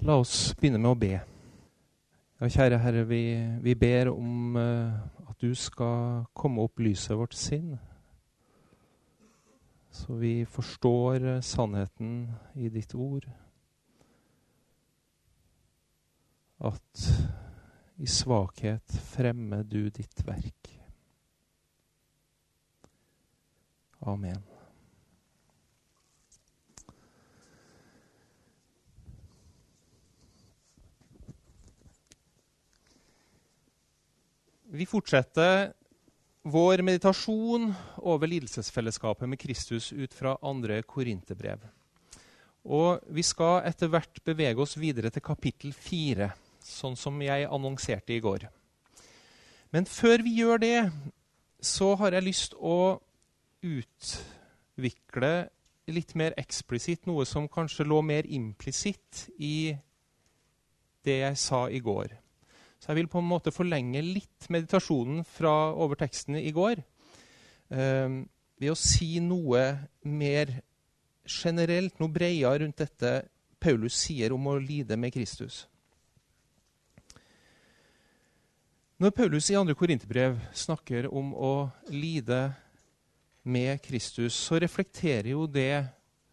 La oss begynne med å be. Ja, kjære Herre, vi ber om at du skal komme og opplyse vårt sinn, så vi forstår sannheten i ditt ord. At i svakhet fremmer du ditt verk. Amen. Vi fortsetter vår meditasjon over lidelsesfellesskapet med Kristus ut fra 2. Korinterbrev. Og vi skal etter hvert bevege oss videre til kapittel 4, sånn som jeg annonserte i går. Men før vi gjør det, så har jeg lyst å utvikle litt mer eksplisitt, noe som kanskje lå mer implisitt i det jeg sa i går. Så jeg vil på en måte forlenge litt meditasjonen fra over teksten i går, ved å si noe mer generelt, noe bredere rundt dette Paulus sier om å lide med Kristus. Når Paulus i 2. Korinterbrev snakker om å lide med Kristus, så reflekterer jo det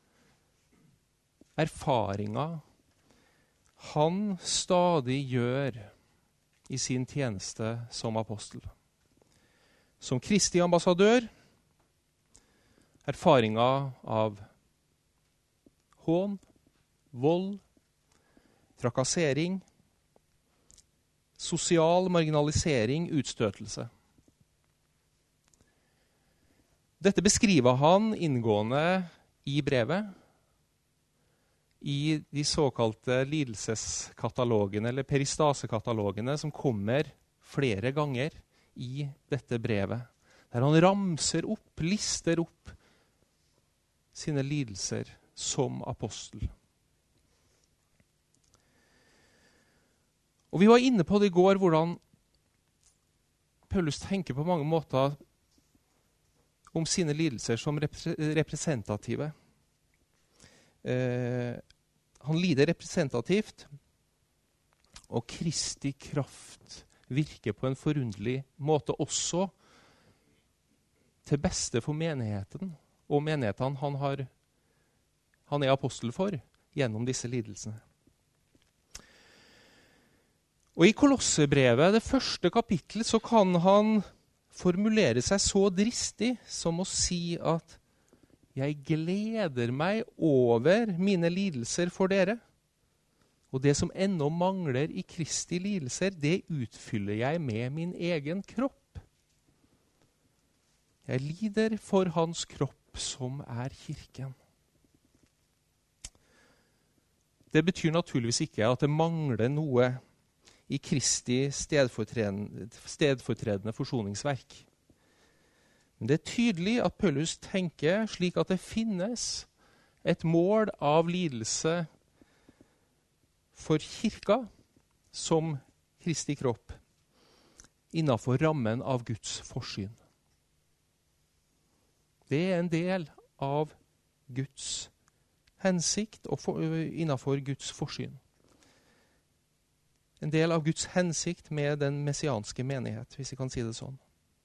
erfaringer han stadig gjør i sin tjeneste som apostel. Som Kristi ambassadør, erfaringer av hån, vold, trakassering, sosial marginalisering, utstøtelse. Dette beskriver han inngående i brevet, i de såkalte lidelseskatalogene, eller peristasekatalogene, som kommer flere ganger i dette brevet, der han ramser opp, lister opp sine lidelser som apostel. Og vi var inne på det i går, hvordan Paulus tenker på mange måter om sine lidelser som representative. Han lider representativt, og Kristi kraft virker på en forunderlig måte også til beste for menigheten, og menighetene han er apostel for gjennom disse lidelsene. Og i Kolossebrevet, det første kapittel, så kan han formulere seg så dristig som å si at jeg gleder meg over mine lidelser for dere. Og det som ennå mangler i Kristi lidelser, det utfyller jeg med min egen kropp. Jeg lider for hans kropp som er kirken. Det betyr naturligvis ikke at det mangler noe i Kristi stedfortredende forsoningsverk. Men det er tydelig at Paulus tenker slik at det finnes et mål av lidelse for kirka som Kristi kropp innenfor rammen av Guds forsyn. Det er en del av Guds hensikt og innenfor Guds forsyn. En del av Guds hensikt med den messianske menighet, hvis vi kan si det sånn.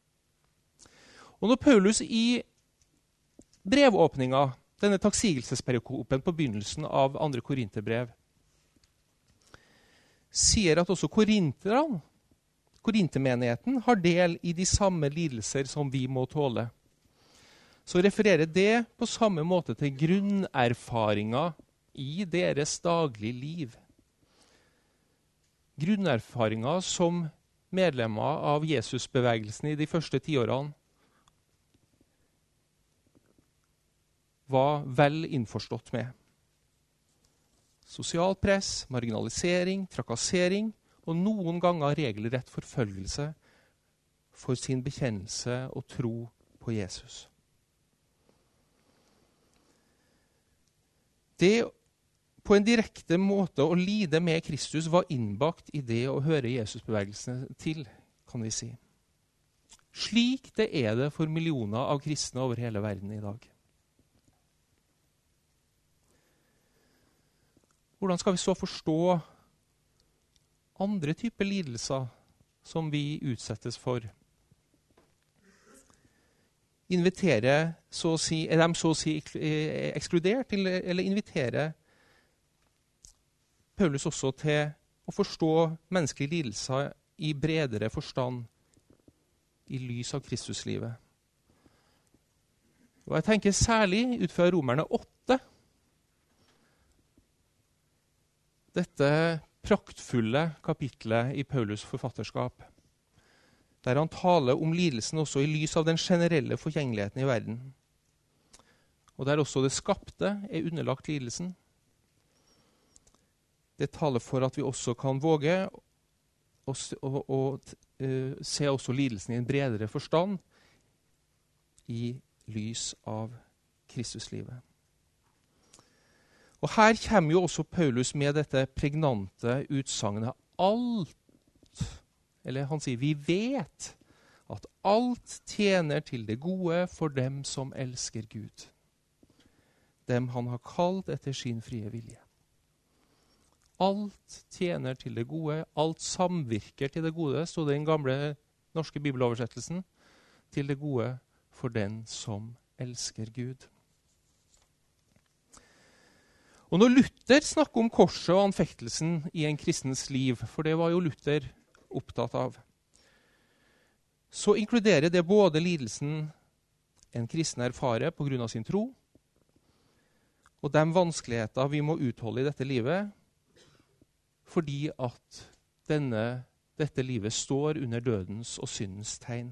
Og når Paulus i brevåpninga, denne takksigelsesperikopen på begynnelsen av 2. Korinterbrev, sier at også korintermenigheten har del i de samme lidelser som vi må tåle, så refererer det på samme måte til grunnerfaringer i deres daglige liv. Grunnerfaringer som medlemmer av Jesusbevegelsen i de første 10 årene var vel innforstått med. Sosial press, marginalisering, trakassering og noen ganger regelrett forfølgelse for sin bekjennelse og tro på Jesus. Det på en direkte måte å lide med Kristus var innbakt i det å høre Jesusbevegelsene til, kan vi si. Slik det er det for millioner av kristne over hele verden i dag. hvordan skal vi så forstå andre typer lidelser som vi utsettes for? Er de så å si ekskludert, eller inviterer Paulus også til å forstå menneskelige lidelser i bredere forstand i lys av Kristuslivet? Og jeg tenker særlig ut fra Romerne 8, dette praktfulle kapitlet i Paulus forfatterskap, der han taler om lidelsen også i lys av den generelle forgjengeligheten i verden, og der også det skapte er underlagt lidelsen. Det taler for at vi også kan våge å se også lidelsen i en bredere forstand i lys av Kristuslivet. Og her kommer jo også Paulus med dette pregnante utsagnet han sier, vi vet at alt tjener til det gode for dem som elsker Gud, dem han har kalt etter sin frie vilje. Alt tjener til det gode, alt samvirker til det gode, stod det i den gamle norske bibeloversettelsen, til det gode for den som elsker Gud. Og når Luther snakker om korset og anfektelsen i en kristens liv, for det var jo Luther opptatt av, så inkluderer det både lidelsen en kristen erfarer på grunn av sin tro, og de vanskeligheter vi må utholde i dette livet, fordi at dette livet står under dødens og syndens tegn.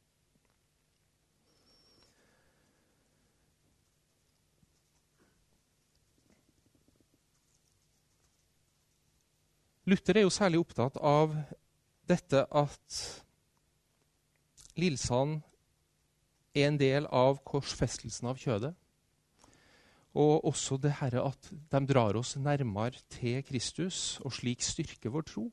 Luther er jo særlig opptatt av dette at lidelsene er en del av korsfestelsen av kjødet, og også det her at de drar oss nærmere til Kristus, og slik styrker vår tro.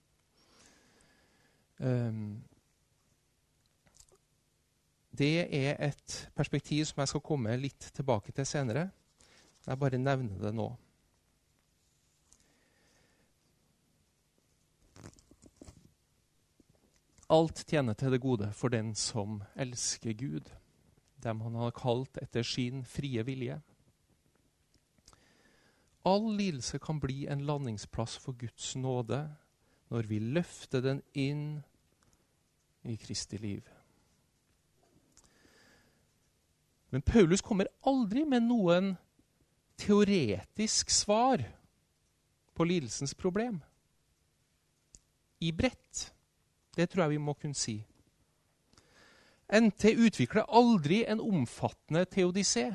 Det er et perspektiv som jeg skal komme litt tilbake til senere. Jeg bare nevner det nå. Alt tjener til det gode for den som elsker Gud, dem han har kalt etter sin frie vilje. All lidelse kan bli en landingsplass for Guds nåde når vi løfter den inn i Kristi liv. Men Paulus kommer aldri med noen teoretisk svar på lidelsens problem. I bredt. Det tror jeg vi må kunne si. NT utvikler aldri en omfattende teodicé.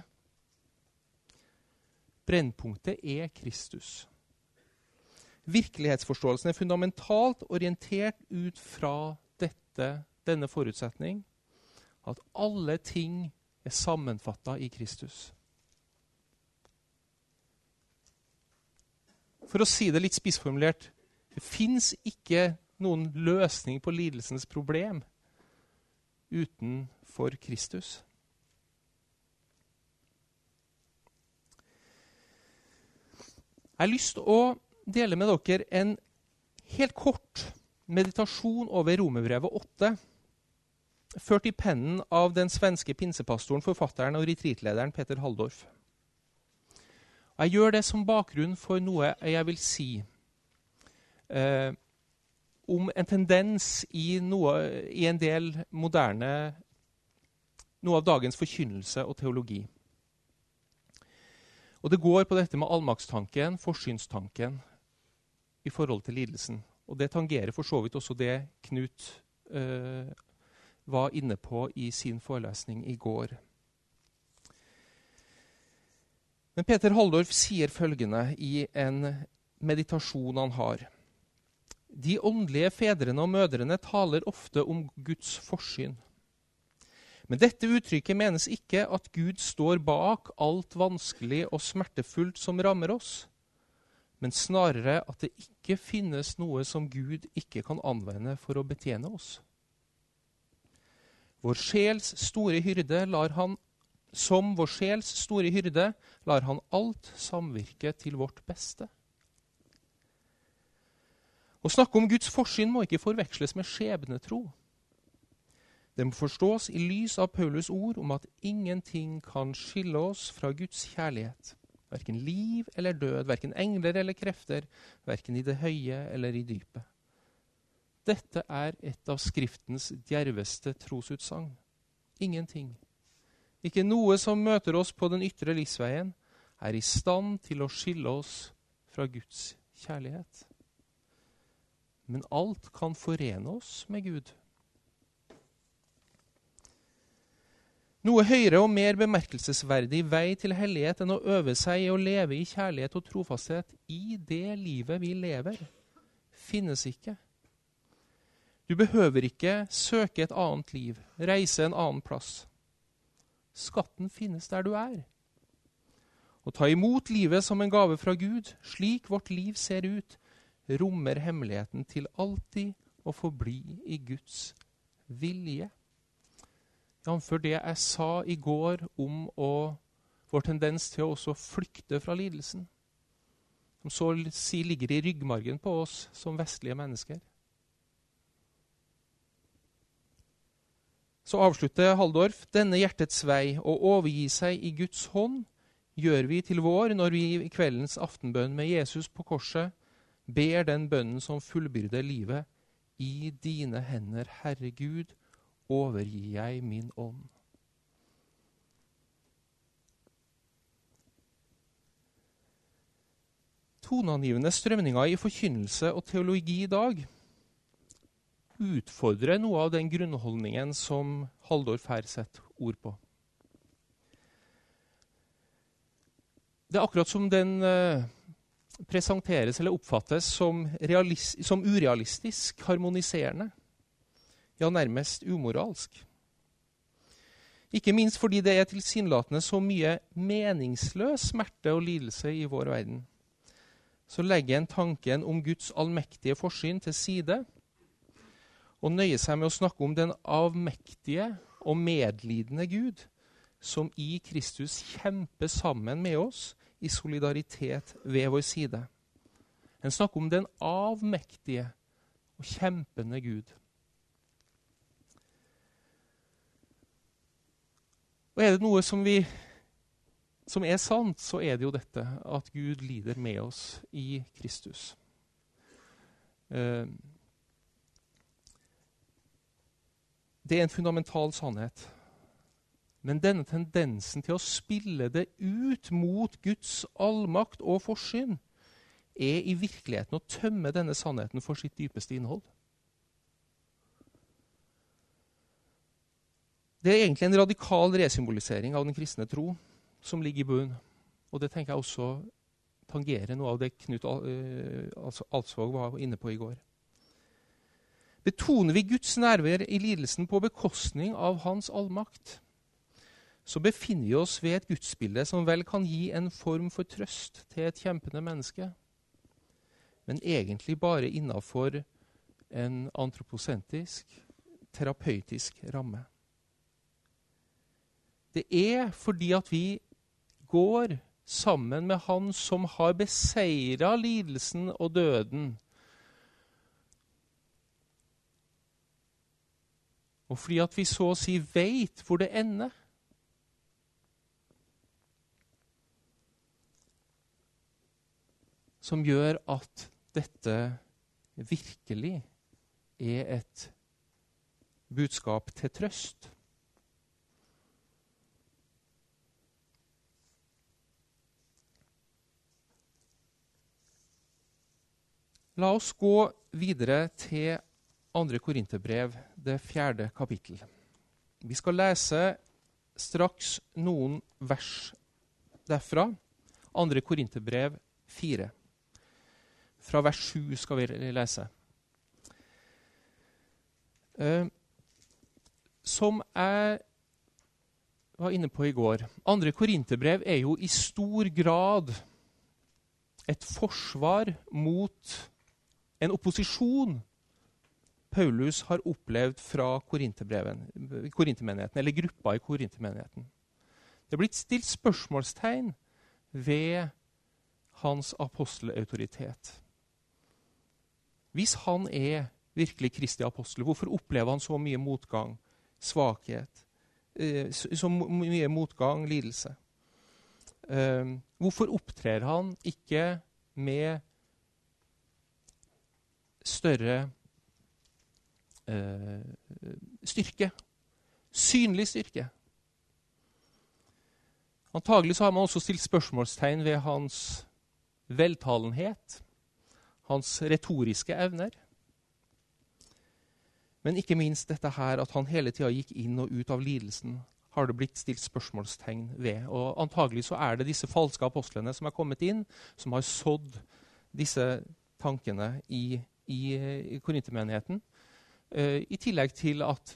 Brennpunktet er Kristus. Virkelighetsforståelsen er fundamentalt orientert ut fra denne forutsetning, at alle ting er sammenfattet i Kristus. For å si det litt spissformulert, det finnes ikke noen løsning på lidelsens problem utenfor Kristus. Jeg har lyst til å dele med dere en helt kort meditasjon over Romerbrevet 8, ført i pennen av den svenske pinsepastoren, forfatteren og retreatlederen Peter Halldorf. Og jeg gjør det som bakgrunn for noe jeg vil si om en tendens i en del moderne, noe av dagens forkynnelse og teologi. Og det går på dette med allmaktstanken, forsynstanken i forhold til lidelsen. Og det tangerer for så vidt også det Knut var inne på i sin forelesning i går. Men Peter Halldorf sier følgende i en meditasjon han har. De åndelige fedrene og mødrene taler ofte om Guds forsyn. Men dette uttrykket menes ikke at Gud står bak alt vanskelig og smertefullt som rammer oss, men snarere at det ikke finnes noe som Gud ikke kan anvende for å betjene oss. Vår sjels store hyrde lar han alt samvirke til vårt beste. Å snakke om Guds forsyn må ikke forveksles med skjebnetro. Det må forstås i lys av Paulus ord om at ingenting kan skille oss fra Guds kjærlighet. Hverken liv eller død, hverken engler eller krefter, hverken i det høye eller i dypet. Dette er et av Skriftens djerveste trosutsagn. Ingenting. Ikke noe som møter oss på den ytre livsveien, er i stand til å skille oss fra Guds kjærlighet. Men alt kan forene oss med Gud. Noe høyere og mer bemerkelsesverdig vei til hellighet enn å øve seg i å leve i kjærlighet og trofasthet i det livet vi lever, finnes ikke. Du behøver ikke søke et annet liv, reise en annen plass. Skatten finnes der du er. Å ta imot livet som en gave fra Gud, slik vårt liv ser ut, rommer hemmeligheten til alltid å forbli i Guds vilje. Jamfør det jeg sa i går om vår tendens til å også flykte fra lidelsen, som så å si ligger i ryggmargen på oss som vestlige mennesker. Så avslutter Halldorf: denne hjertets vei, å overgi seg i Guds hånd, gjør vi til vår når vi i kveldens aftenbønn med Jesus på korset ber den bønnen som fullbyrder livet: i dine hender, Herre Gud, overgir jeg min ånd. Toneangivende strømninger i forkynnelse og teologi i dag utfordrer noe av den grunnholdningen som Halldorf her setter ord på. Det er akkurat som den presenteres eller oppfattes som urealistisk, harmoniserende, ja, nærmest umoralsk. Ikke minst fordi det er tilsynelatende så mye meningsløs smerte og lidelse i vår verden. Så legger en tanken om Guds allmektige forsyn til side, og nøyer seg med å snakke om den avmektige og medlidende Gud, som i Kristus kjemper sammen med oss i solidaritet ved vår side. En snakker om den avmektige og kjempende Gud. Og er det noe som er sant, så er det jo dette, at Gud lider med oss i Kristus. Det er en fundamental sannhet. Men denne tendensen til å spille det ut mot Guds allmakt og forsyn er i virkeligheten å tømme denne sannheten for sitt dypeste innhold. Det er egentlig en radikal resymbolisering av den kristne tro som ligger i bunnen. Og det tenker jeg også tangerer noe av det Knut Alsvåg var inne på i går. Betoner vi Guds nærvær i lidelsen på bekostning av hans allmakt, så befinner vi oss ved et gudsbilde som vel kan gi en form for trøst til et kjempende menneske, men egentlig bare innenfor en antroposentrisk, terapeutisk ramme. Det er fordi at vi går sammen med Han som har beseiret lidelsen og døden. Og fordi at vi så å si vet hvor det ender. Som gjør at dette virkelig er et budskap til trøst. La oss gå videre til 2. Korinterbrev, det 4. kapittel. Vi skal lese straks noen vers derfra. 2. Korinterbrev 4. Fra vers 7 skal vi lese. Som jeg var inne på i går, 2. Korinterbrev er jo i stor grad et forsvar mot en opposisjon Paulus har opplevd fra korintermenigheten, eller gruppa i korintermenigheten. Det er blitt stilt spørsmålstegn ved hans apostelautoritet. Hvis han virkelig Kristi apostel, hvorfor opplever han så mye motgang, svakhet, så mye motgang, lidelse? Hvorfor opptrer han ikke med større styrke? Synlig styrke. Antagelig så har man også stilt spørsmålstegn ved hans veltalenhet, hans retoriske evner. Men ikke minst dette her at han hele tiden gikk inn og ut av lidelsen, har det blitt stilt spørsmålstegn ved. Og antagelig så det disse falske apostlene som kommet inn, som har sådd disse tankene i Korintermenigheten. I tillegg til at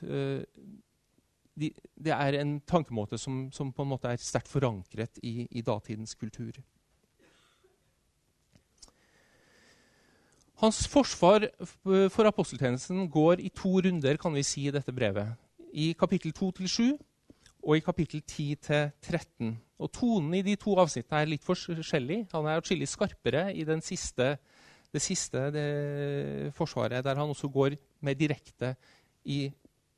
det en tankemåte som på en måte sterkt forankret i datidens kultur. Hans forsvar for aposteltjenesten går i 2 runder, kan vi si, i dette brevet. I kapittel 2-7 og i kapittel 10-13. Og tonen i de 2 avsnittene litt forskjellig. Han atskillig skarpere i det siste forsvaret, der han også går mer direkte i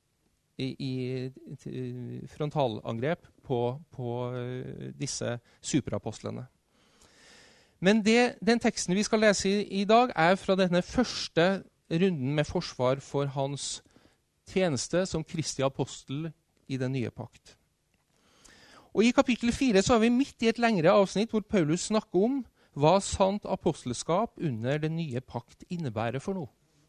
frontalangrep på disse superapostlene. Men den teksten vi skal lese i dag fra denne første runden med forsvar for hans tjeneste som Kristi apostel i den nye pakt. Og i kapittel 4 så vi midt i et lengre avsnitt hvor Paulus snakker om hva sant apostelskap under den nye pakt innebærer for noe.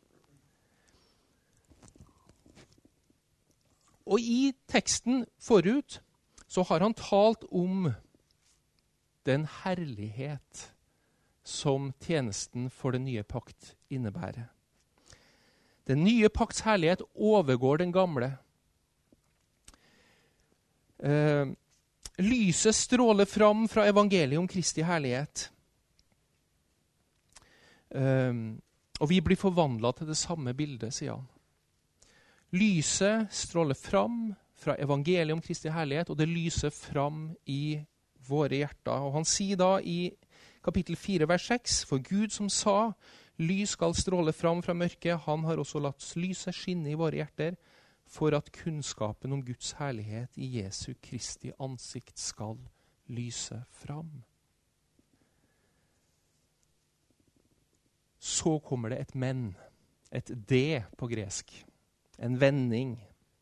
Og i teksten forut så har han talt om den herlighet som tjenesten for den nye pakt innebærer. Den nye pakts herlighet overgår den gamle. Lyset stråler fram fra evangeliet om Kristi herlighet. Og vi blir forvandlet til det samme bildet, sier han. Lyset stråler fram fra evangeliet om Kristi herlighet, og det lyser fram i våre hjerter. Og han sier da i kapittel 4, vers 6, for Gud som sa, lys skal stråle fram fra mørket, han har også latt lyset skinne i våre hjerter, for at kunnskapen om Guds herlighet i Jesu Kristi ansikt skal lyse fram. Så kommer det et men, et det på gresk, en vending.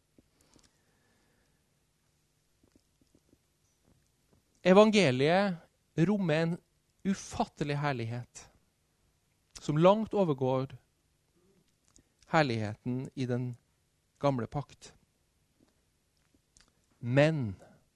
Evangeliet rommer en ufattelig herlighet, som langt overgår herligheten i den gamle pakt. Men,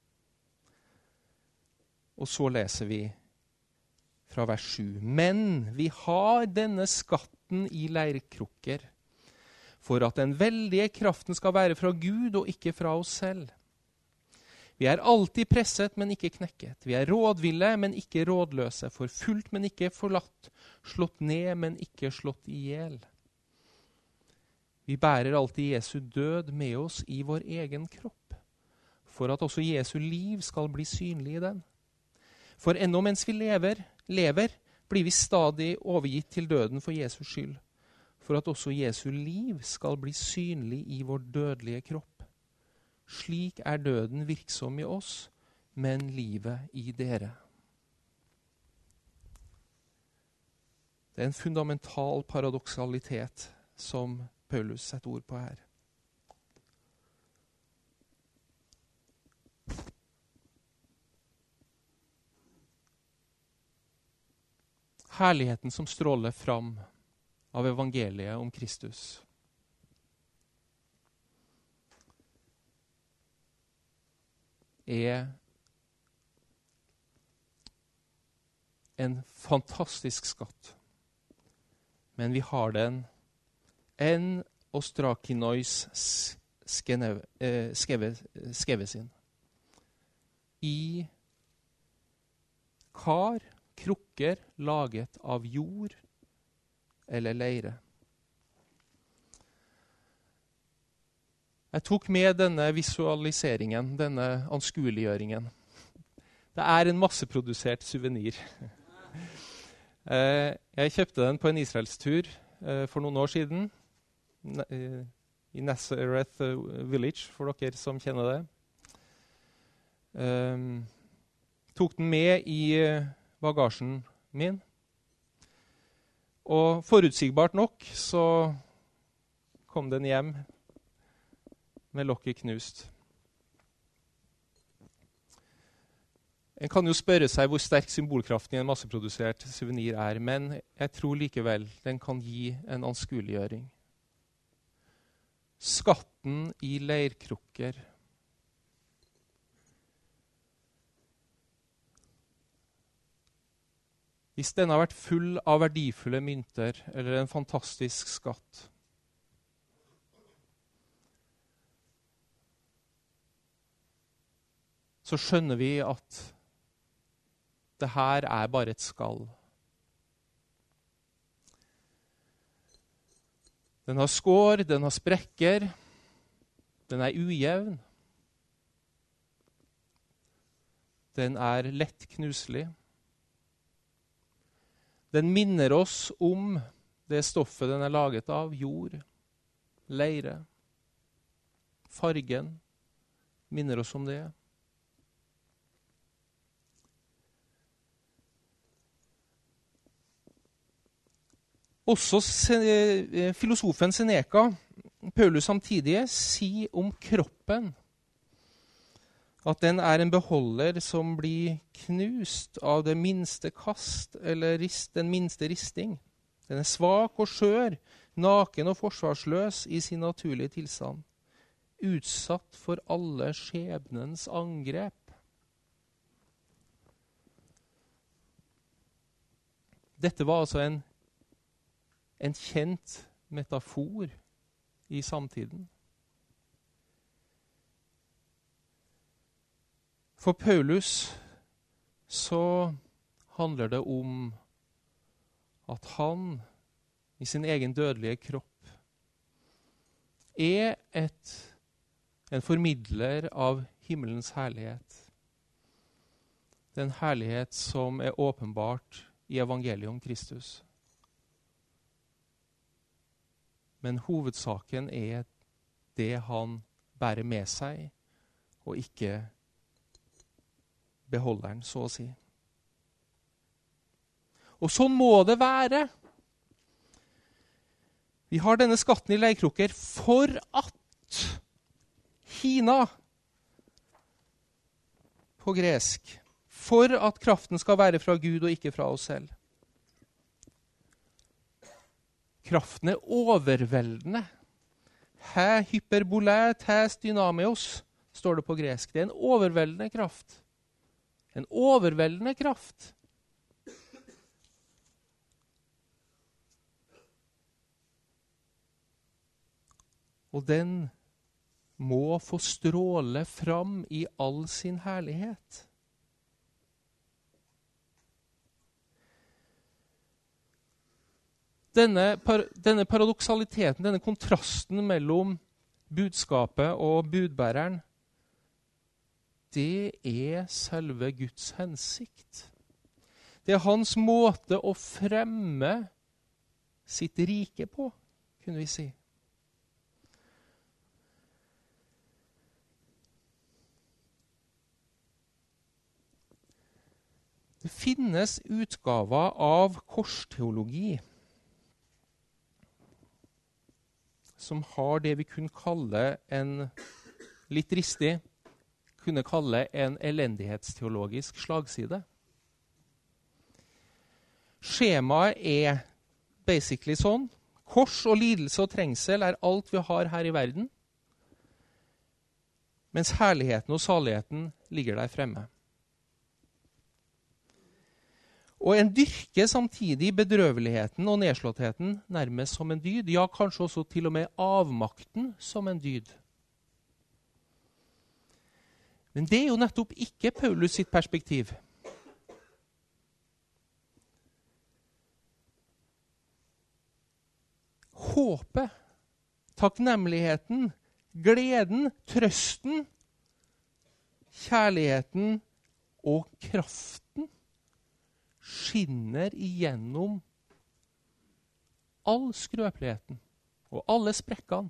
og så leser vi fra vers 7, men vi har denne skatten i leirkrukker, for at den veldige kraften skal være fra Gud og ikke fra oss selv. Vi alltid presset, men ikke knekket. Vi rådville, men ikke rådløse. Forfulgt, men ikke forlatt. Slått ned, men ikke slått ihjel. Vi bærer alltid Jesu død med oss i vår egen kropp, for at også Jesu liv skal bli synlig i den. For ennå mens vi lever, blir vi stadig overgitt til døden for Jesus skyld, for at også Jesu liv skal bli synlig i vår dødelige kropp. Slik døden virksom i oss, men livet i dere. Det en fundamental paradoksalitet som Paulus setter ord på her. Herligheten som stråler fram av evangeliet om Kristus. En fantastisk skatt. Men vi har den en ostrakinois skevesin. I kar, krukker laget av jord eller leire. Jeg tok med denne visualiseringen, denne anskueliggjøringen. Det en masseprodusert suvenir. Jeg kjøpte den på en israelstur for noen år siden i Nazareth Village, for dere som kjenner det. Tok den med i bagasjen min. Og forutsigbart nok så kom den hjem med lokket knust. En kan jo spørre seg hvor sterk symbolkraften i en masseprodusert souvenir er, men jeg tror likevel den kan gi en anskueliggjøring. Skatten i leirkrukker. Hvis den har vært full av verdifulle mynter eller en fantastisk skatt, så skjønner vi at det her er bare et skall. Den har skår, den har sprekker, den er ujevn. Den er lett knuselig. Den minner oss om det stoffet den er laget av, jord, leire. Fargen minner oss om det. Også filosofen Seneca, Paulus samtidig, sier om kroppen at den er en beholder som blir knust av det minste kast eller den minste risting. Den er svak og skjør, naken og forsvarsløs i sin naturlige tilstand, utsatt for alle skjebnens angrep. Dette var altså en kjent metafor i samtiden. For Paulus så handler det om at han i sin egen dødelige kropp er en formidler av himmelens herlighet. Den herlighet som er åpenbart i evangeliet om Kristus. Men hovedsaken er det han bærer med seg, og ikke beholderen, så å si. Og sånn må det være. Vi har denne skatten i leirkrukker for at hina, på gresk, for at kraften skal være fra Gud og ikke fra oss selv. Kraften er overveldende. Hæ hyperbolæt, hæs dynamios, står det på gresk. Det er en overveldende kraft. En overveldende kraft. Og den må få stråle fram i all sin herlighet. Denne paradoksaliteten, denne kontrasten mellom budskapet og budbæreren, det er selve Guds hensikt. Det er hans måte å fremme sitt rike på, kunne vi si. Det finnes utgaver av korsteologi som har det vi kunne kalle litt dristig, kunne kalle en elendighetsteologisk slagside. Skjemaet er basically sånn. Kors og lidelse og trengsel er alt vi har her i verden, mens herligheten og saligheten ligger der fremme. Og en dyrker samtidig bedrøveligheten og nedslåttheten nærmest som en dyd, ja, kanskje også til og med avmakten som en dyd. Men det er jo nettopp ikke Paulus sitt perspektiv. Håpet, takknemligheten, gleden, trøsten, kjærligheten og kraften skinner igjennom all skrøpeligheten og alle sprekkene.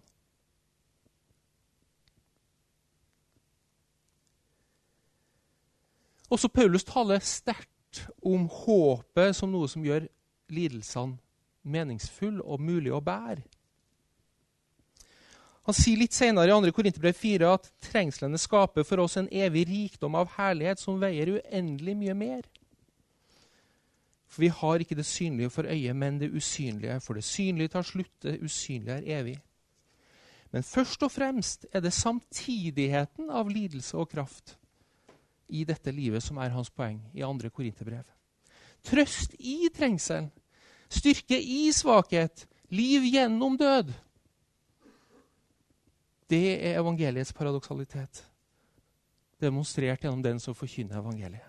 Også Paulus taler sterkt om håpet som noe som gjør lidelsene meningsfull og mulig å bære. Han sier litt senere i 2. Korinterbrev 4 at trengslene skaper for oss en evig rikdom av herlighet som veier uendelig mye mer. For vi har ikke det synlige for øyet, men det usynlige. For det synlige tar slutt, det usynlige er evig. Men først og fremst er det samtidigheten av lidelse og kraft i dette livet som er hans poeng i 2. Korinterbrev. Trøst i trengselen, styrke i svakhet, liv gjennom død. Det er evangeliets paradoksalitet, demonstrert gjennom den som forkynner evangeliet.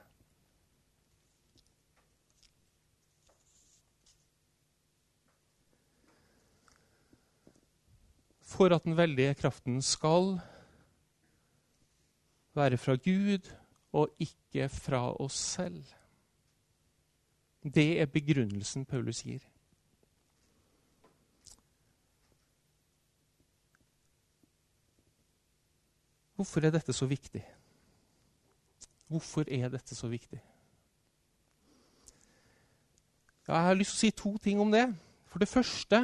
For at den veldige kraften skal være fra Gud og ikke fra oss selv. Det er begrunnelsen Paulus gir. Hvorfor er dette så viktig? Hvorfor er dette så viktig? Ja, jeg har lyst til å si 2 ting om det. For det første,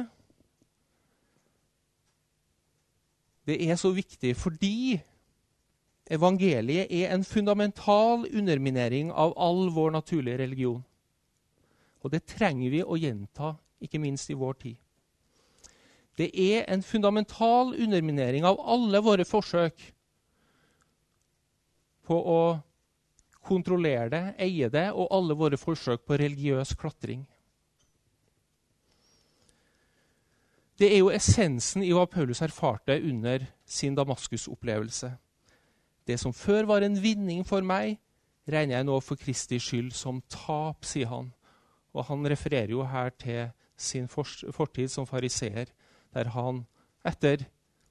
det er så viktig fordi evangeliet er en fundamental underminering av all vår naturlige religion. Og det trenger vi å gjenta, ikke minst i vår tid. Det er en fundamental underminering av alle våre forsøk på å kontrollere det, eie det, og alle våre forsøk på religiøs klatring. Det er jo essensen i hva Paulus erfarte under sin Damaskus-opplevelse. Det som før var en vinning for meg, regner jeg nå for Kristi skyld som tap, sier han. Og han refererer jo her til sin fortid som fariseer, der han etter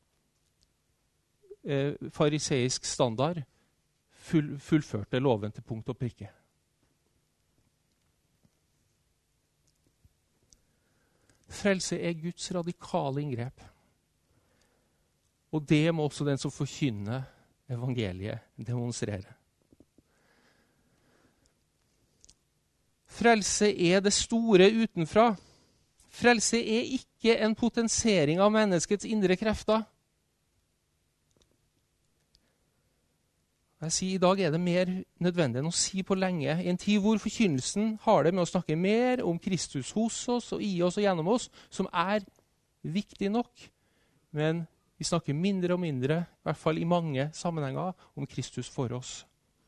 fariseisk standard fullførte loven til punkt og prikke. Frelse er Guds radikale inngrep. Og det må også den som forkynner evangeliet demonstrere. Frelse er det store utenfra. Frelse er ikke en potensering av menneskets indre krefter. Jeg sier, i dag er det mer nødvendig enn å si på lenge. I en tid hvor forkynnelsen har det med å snakke mer om Kristus hos oss og i oss og gjennom oss, som er viktig nok. Men vi snakker mindre og mindre, i hvert fall i mange sammenhenger, om Kristus for oss.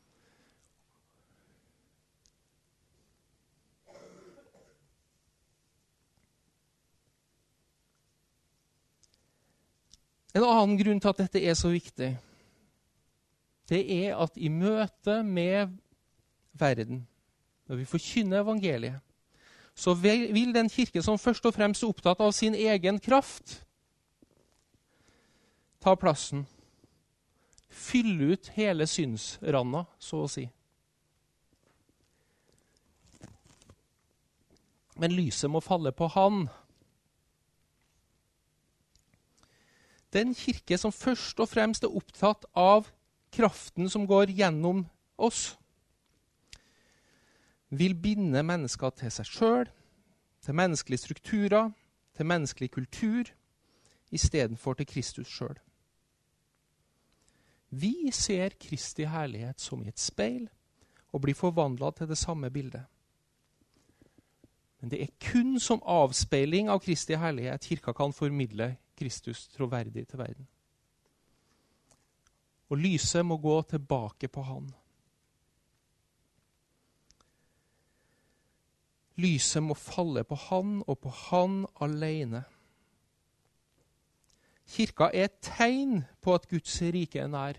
En annen grunn til at dette er så viktig, det er at i møte med verden, når vi forkynner evangeliet, så vil den kirke som først og fremst er opptatt av sin egen kraft, ta plassen, fylle ut hele synsranda, så å si. Men lyset må falle på han. Den kirke som først og fremst er opptatt av kraften som går gjennom oss, vil binde mennesker til seg selv, til menneskelige strukturer, til menneskelig kultur, i stedet for til Kristus selv. Vi ser Kristi herlighet som i et speil, og blir forvandlet til det samme bildet. Men det er kun som avspeiling av Kristi herlighet kirka kan formidle Kristus troverdig til verden. Og lyset må gå tilbake på han. Lyset må falle på han og på han alene. Kirka er et tegn på at Guds rike er nær.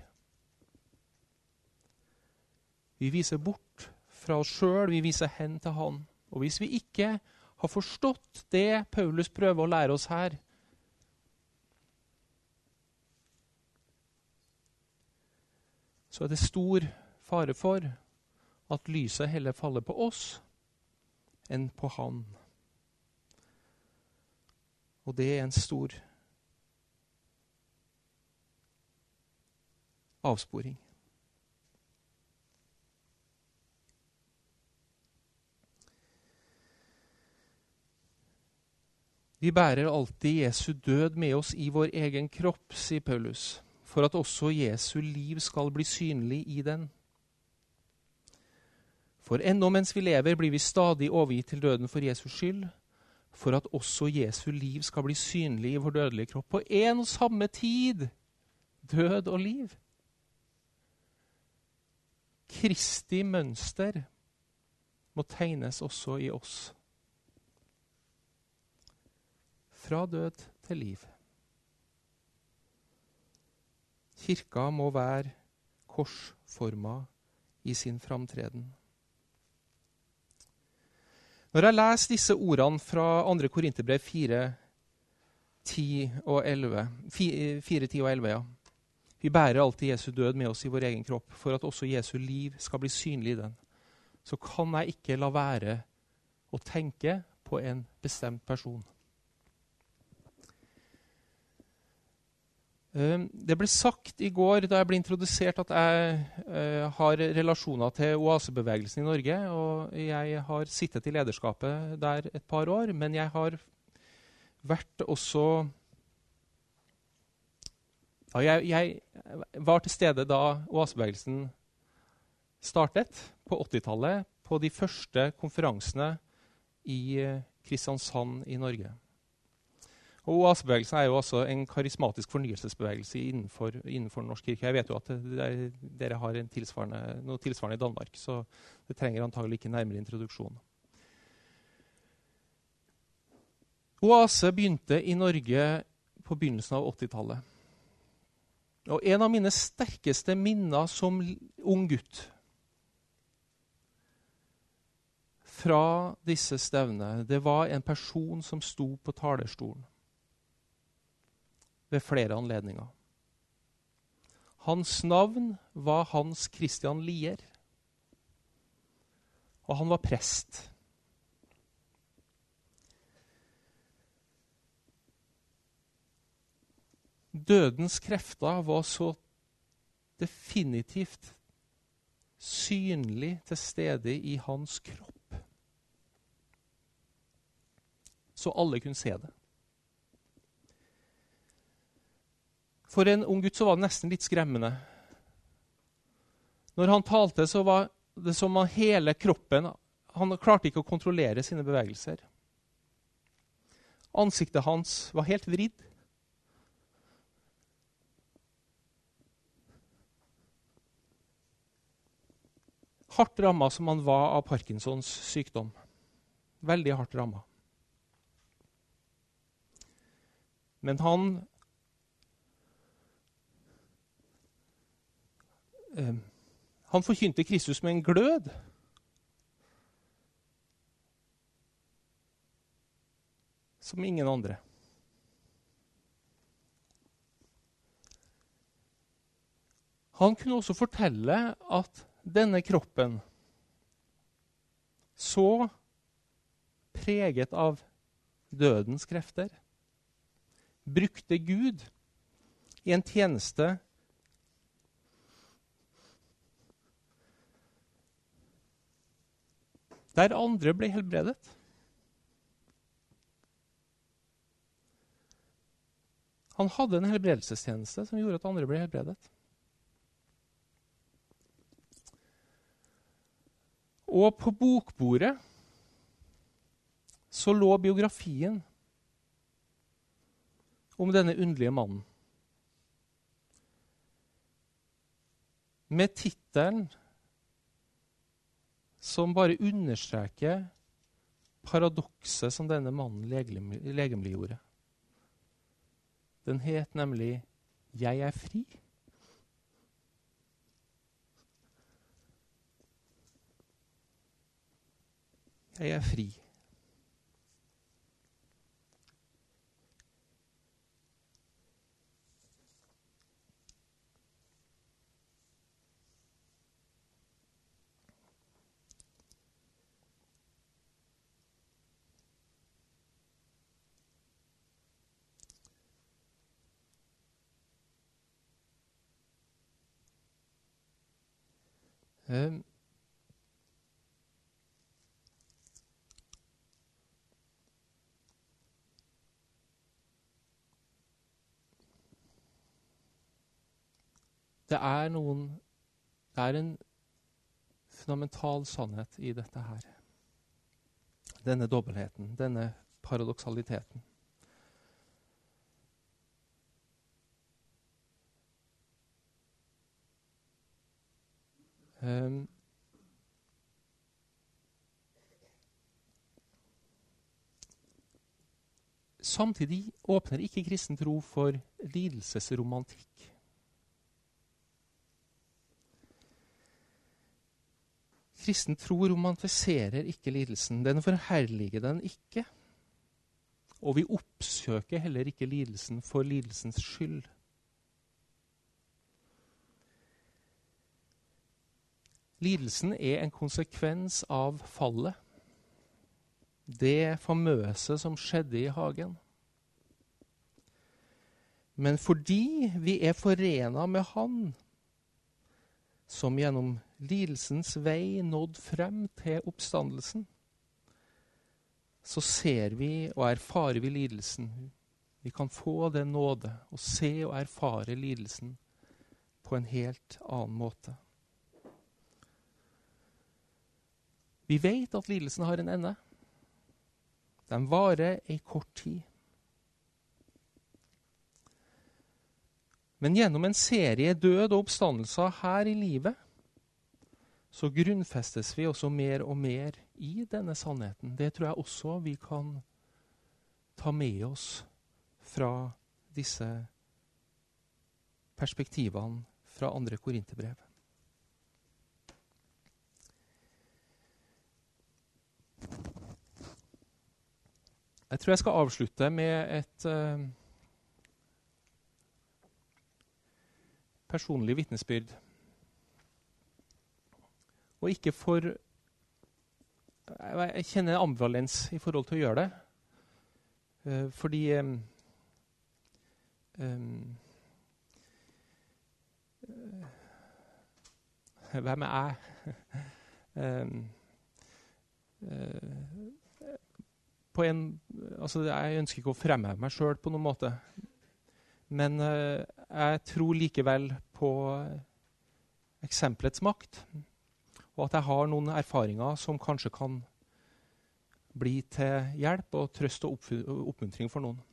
Vi viser bort fra oss selv, vi viser hen til han. Og hvis vi ikke har forstått det Paulus prøver å lære oss her, så er det stor fare for at lyset heller faller på oss enn på han. Og det er en stor avsporing. Vi bærer alltid Jesu død med oss i vår egen kropp, sier Paulus, for at også Jesu liv skal bli synlig i den. For ennå mens vi lever, blir vi stadig overgitt til døden for Jesus skyld, for at også Jesu liv skal bli synlig i vår dødelige kropp. På en og samme tid, død og liv. Kristi mønster må tegnes også i oss. Fra død til liv. Kirka må være korsforma i sin framtreden. Når jeg leser disse ordene fra 2. Korinterbrev 4, 10 og 11, 4, 10 og 11, ja. Vi bærer alltid Jesu død med oss i vår egen kropp, for at også Jesu liv skal bli synlig i den. Så kan jeg ikke la være å tenke på en bestemt person. Det ble sagt i går da jeg ble introdusert at jeg har relasjoner til oasebevegelsen i Norge, og jeg har sittet i lederskapet der et par år, men jeg har vært også... Ja, jeg var til stede da oasebevegelsen startet på 80-tallet, på de første konferansene i Kristiansand i Norge. Og oasebevegelsen er jo også en karismatisk fornyelsesbevegelse innenfor norsk kirke. Jeg vet jo at dere har noe tilsvarende i Danmark, så det trenger antagelig ikke nærmere introduksjon. Oase begynte i Norge på begynnelsen av 80-tallet. Og en av mine sterkeste minner som ung gutt fra disse stevnene, det var en person som sto på talerstolen ved flere anledninger. Hans navn var Hans Christian Lier, og han var prest. Dødens krefter var så definitivt synlig til stede i hans kropp. Så alle kunne se det. For en ung gutt så var det nesten litt skremmende. Når han talte, så var det som om hele kroppen, han klarte ikke å kontrollere sine bevegelser. Ansiktet hans var helt vridd. Hardt rammet som han var av Parkinsons sykdom. Veldig hardt rammet. Men han forkynte Kristus med en glød. Som ingen andre. Han kunne også fortelle at denne kroppen, så preget av dødens krefter, brukte Gud i en tjeneste der andre ble helbredet. Han hadde en helbredelsestjeneste som gjorde at andre ble helbredet. Og på bokbordet så lå biografien om denne underlige mannen. Med titelen som bare understreker paradokset som denne mannen legemliggjorde. Den het nemlig «Jeg er fri». Jeg er fri. Det er en fundamental sannhet i dette her. Denne dobbeltheten, denne paradoksaliteten. Samtidig åpner ikke kristen tro for lidelsesromantikk. Kristen tro romantiserer ikke lidelsen. Den forherliger den ikke. Og vi oppsøker heller ikke lidelsen for lidelsens skyld. Lidelsen er en konsekvens av fallet. Det famøse som skjedde i hagen. Men fordi vi er forenet med Han, som gjennom lidelsens vei nådd frem til oppstandelsen, så ser vi og erfarer vi lidelsen. Vi kan få den nåde å se og erfare lidelsen på en helt annen måte. Vi vet at lidelsen har en ende. Den varer en kort tid. Men gjennom en serie død og oppstandelser her i livet, så grunnfestes vi også mer og mer i denne sannheten. Det tror jeg også vi kan ta med oss fra disse perspektivene fra 2. Korinterbrev. Jeg tror jeg skal avslutte med et personlig vitnesbyrd. Og ikke for jeg kjenner ambivalens i forhold til å gjøre det. Fordi hvem er jeg? Jeg ønsker ikke å fremheve meg selv på noen måte. Men jeg tror likevel på eksempelets makt. Og at jeg har noen erfaringer som kanskje kan bli til hjelp og trøst og oppmuntring for noen.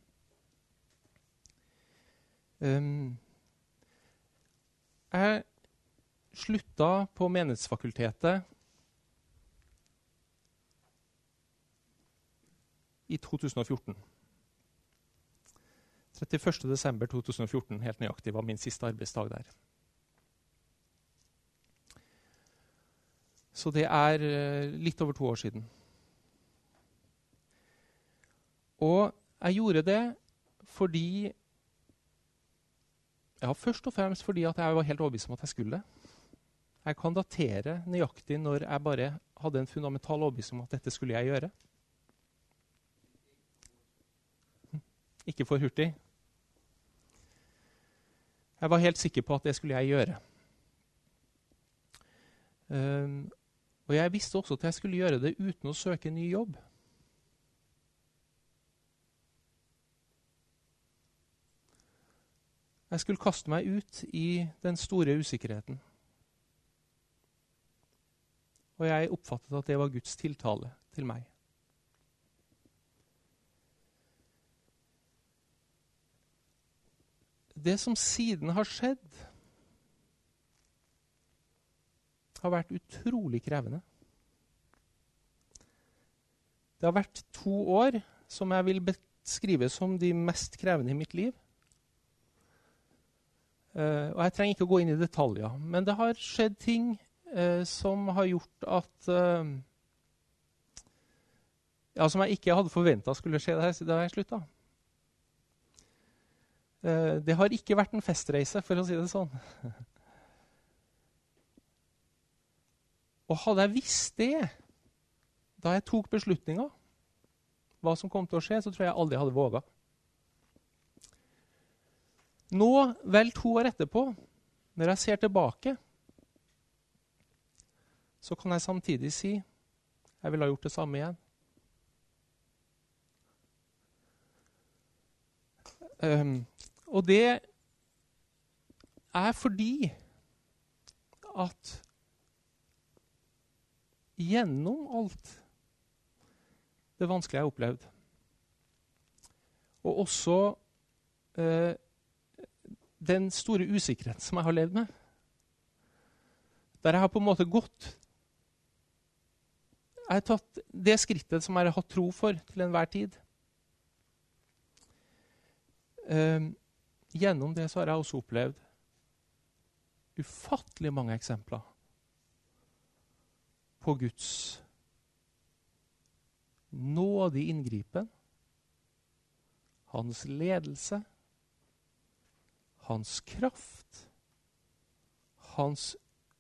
Jeg slutta på Menighetsfakultetet i 2014. 31. desember 2014, helt nøyaktig, var min siste arbeidsdag der. Så det er litt over 2 år siden. Og jeg gjorde det fordi først og fremst fordi at jeg var helt overbevist om at jeg skulle det. Jeg kan datere nøyaktig når jeg bare hadde en fundamental overbevisning om at dette skulle jeg gjøre. Ikke for hurtig. Jeg var helt sikker på at det skulle jeg gjøre. Og jeg visste også at jeg skulle gjøre det uten å søke ny jobb. Jeg skulle kaste meg ut i den store usikkerheten. Og jeg oppfattet at det var Guds tiltale til meg. Det som siden har skjedd, har vært utrolig krevende. Det har vært 2 år som jeg vil beskrive som de mest krevende i mitt liv. Og jeg trenger ikke å gå inn i detaljer, men det har skjedd ting som har gjort at som jeg ikke hadde forventet skulle skje da jeg sluttet. Det har ikke vært en festreise, for å si det sånn. Og hadde jeg visst det, da jeg tok beslutninger, hva som kom til å skje, så tror jeg aldri hadde våget. Nå, vel 2 år etterpå, når jeg ser tilbake, så kan jeg samtidig si jeg ville ha gjort det samme igjen. Og det er fordi at gjennom alt det vanskelige jeg har opplevd, og også den store usikkerheten som jeg har levd med, der jeg har på en måte gått, jeg har tatt det skrittet som jeg har hatt tro for til enhver tid. Gjennom det så har jeg også opplevd ufattelig mange eksempler på Guds nådig inngripen, hans ledelse, hans kraft, hans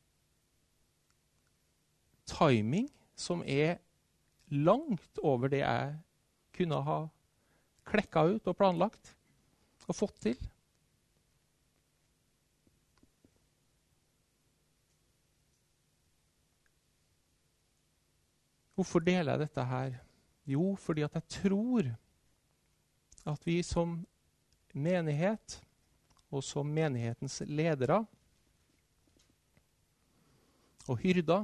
timing, som er langt over det jeg kunne ha klekket ut og planlagt og fått til. Hvorfor deler jeg dette her? Jo, fordi at jeg tror at vi som menighet og som menighetens ledere og hyrder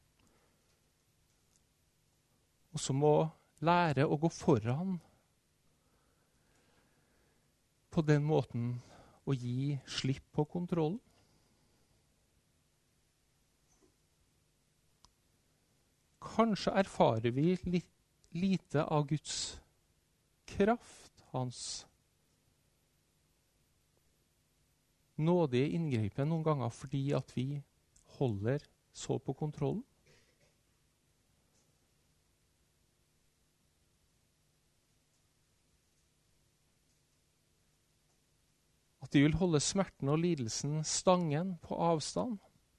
også må lære å gå foran på den måten å gi slipp på kontrollen. Kanskje erfarer vi lite av Guds kraft, hans nådige inngripen noen ganger fordi at vi holder så på kontrollen. At de vil holde smerten og lidelsen stangen på avstand.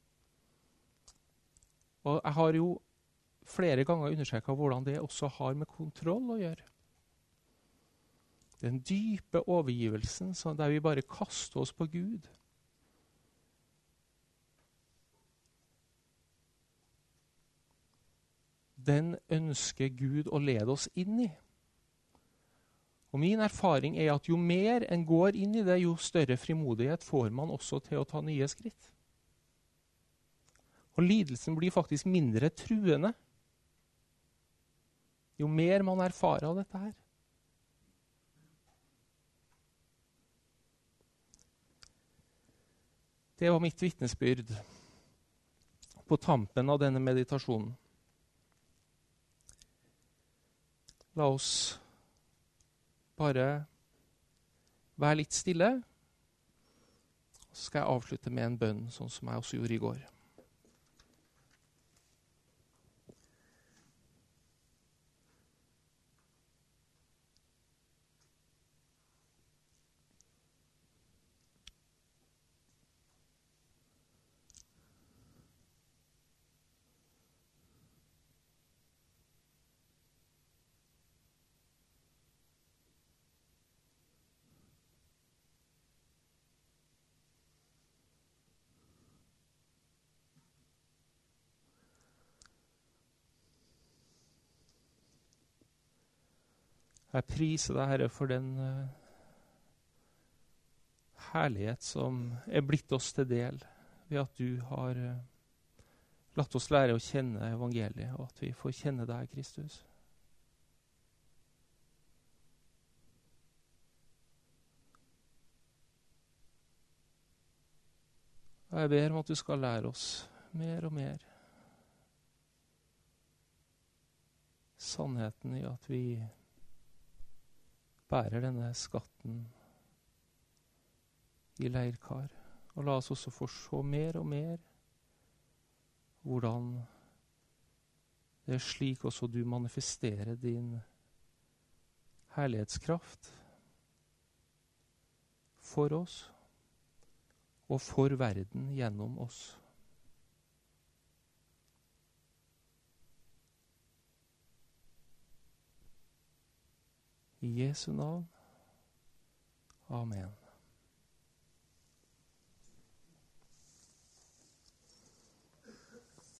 Og jeg har jo flere ganger undersøkt hvordan det også har med kontroll å gjøre. Den dype overgivelsen der vi bare kaster oss på Gud. Den ønsker Gud å lede oss inn i. Og min erfaring er at jo mer en går inn i det, jo større frimodighet får man også til å ta nye skritt. Og lidelsen blir faktisk mindre truende jo mer man erfarer av dette her. Det var mitt vitnesbyrd på tampen av denne meditasjonen. La oss bare være litt stille. Så skal jeg avslutte med en bønn, sånn som jeg også gjorde i går. Jeg priser deg, Herre, for den herlighet som er blitt oss til del ved at du har latt oss lære å kjenne evangeliet, og at vi får kjenne deg, Kristus. Og jeg ber om at du skal lære oss mer og mer sannheten i at vi bærer denne skatten i leirkar. Og la oss også få se mer og mer hvordan det er slik også du manifesterer din herlighetskraft for oss og for verden gjennom oss. I Jesu navn. Amen.